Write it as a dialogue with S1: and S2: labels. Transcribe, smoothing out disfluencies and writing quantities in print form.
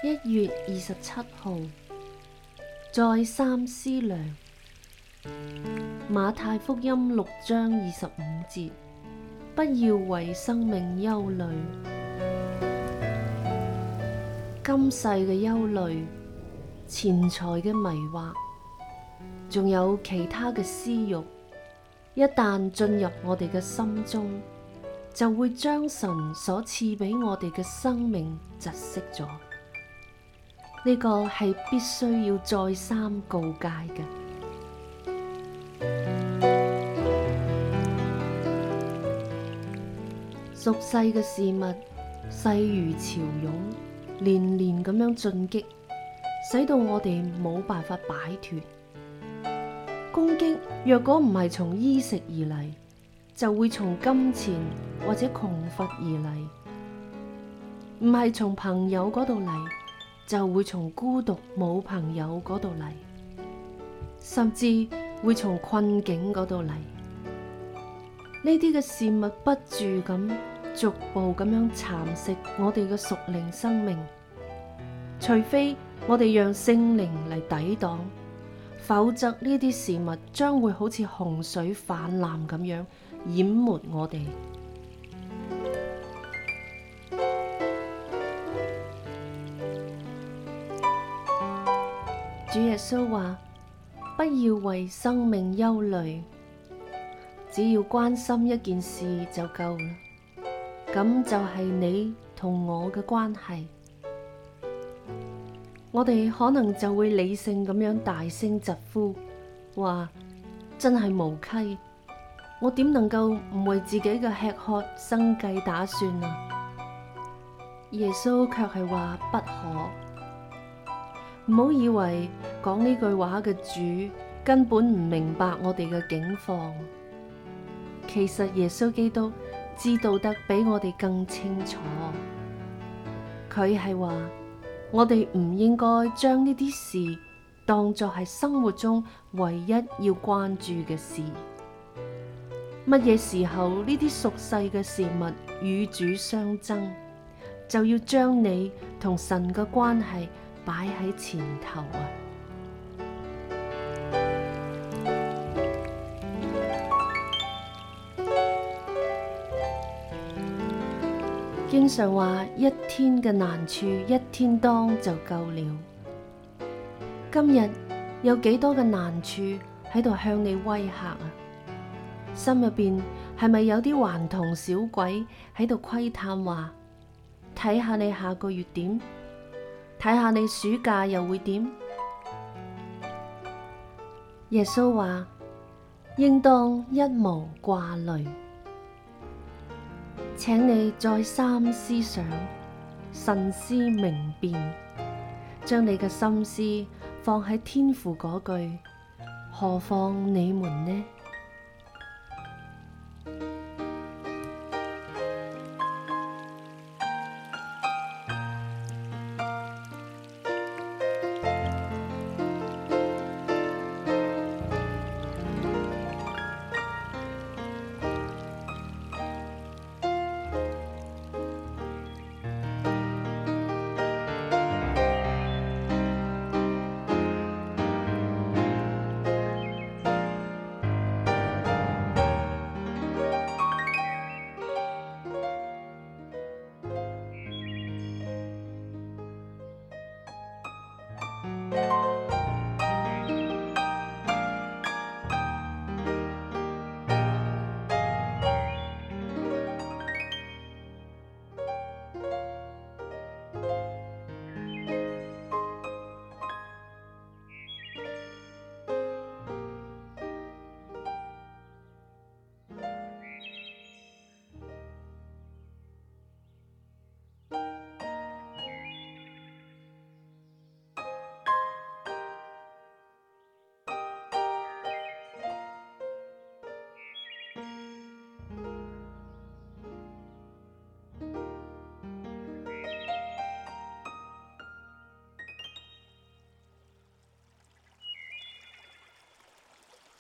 S1: 1月27號，再三思量。馬太福音6章25節，不要為生命憂慮。今世嘅憂慮、錢財嘅迷惑，仲有其他嘅私欲，一旦進入我哋嘅心中，就會將神所賜俾我哋嘅生命窒息咗。呢個係必須要再三告誡嘅。俗世嘅事物勢如潮湧，連連咁樣進擊，使到我哋冇辦法擺脫。攻擊若果唔係從衣食而嚟，就會從金錢或者窮乏而嚟；唔係從朋友嗰度嚟，就會從孤獨冇朋友嗰度嚟，甚至會從困境嗰度嚟。呢啲嘅事物不住咁逐步咁樣蠶食我哋嘅屬靈生命，除非我哋讓聖靈嚟抵擋，否則呢啲事物將會好似洪水泛濫咁樣淹沒我哋。主耶穌話：不要為生命憂慮，只要關心一件事就夠啦。咁就係你同我嘅關係。我哋可能就會理性咁樣大聲疾呼，話真係無稽，我點能夠唔為自己嘅吃喝生計打算啊？耶穌卻係話不可。唔好以為講呢句話嘅主根本唔明白我哋嘅境況，其實耶穌基督知道得比我哋更清楚。佢係話我哋唔應該將呢啲事當作係生活中唯一要關注嘅事。乜嘢時候呢啲俗世嘅事物與主相爭，就要將你同神嘅關係擺喺前頭啊！經常話一天嘅難處一天當就夠了。今日有幾多嘅難處喺度向你威嚇啊？心入邊係咪有啲頑童小鬼喺度窺探話，睇下你下個月點？睇下你暑假又會點？耶穌話：應當一無掛慮。請你再三思想，慎思明辨，將你嘅心思放喺天父嗰句，何況你們呢？